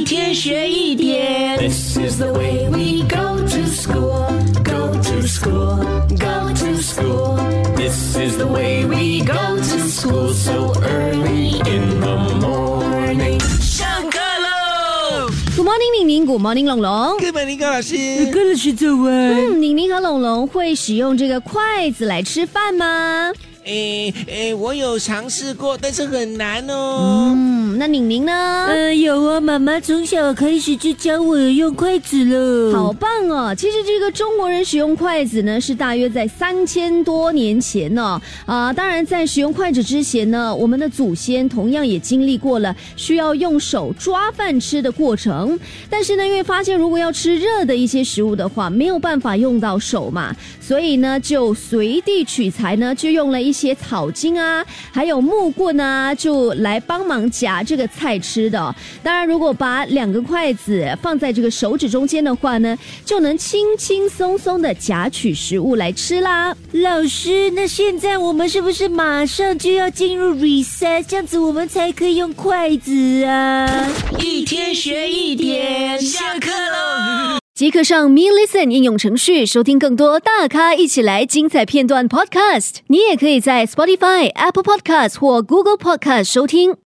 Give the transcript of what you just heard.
天学一点。This is the way we go to school, go to school, go to school. This is the way we go to school so early in the morning. 上课喽 Good morning， 宁宁 ，Good morning， 龙龙。 Good morning， 高老师。 高老师早安。 宁宁和龙龙会使用这个筷子来吃饭吗？ 我有尝试过，但是很难哦。 那宁宁呢？ 有啊，妈妈从小开始就教我用筷子了。 好棒哦！其实这个中国人使用筷子呢，是大约在3000多年前呢。当然在使用筷子之前呢，我们的祖先同样也经历过了需要用手抓饭吃的过程。但是呢，因为发现如果要吃热的一些食物的话，没有办法用到手嘛，所以呢，就随地取材呢，就用了一些草茎啊，还有木棍啊，就来帮忙夹这个菜吃的。当然，如果把2个筷子放在这个手指中间的话呢，就能轻轻松松的夹取食物来吃啦。 老师，那现在我们是不是马上就要进入 recess， 这样子我们才可以用筷子啊？ 一天学一点，下课喽！ 即刻上 Me Listen 应用程序收听更多大咖一起来精彩片段 Podcast。你也可以在 Spotify、Apple Podcast 或 Google Podcast 收听。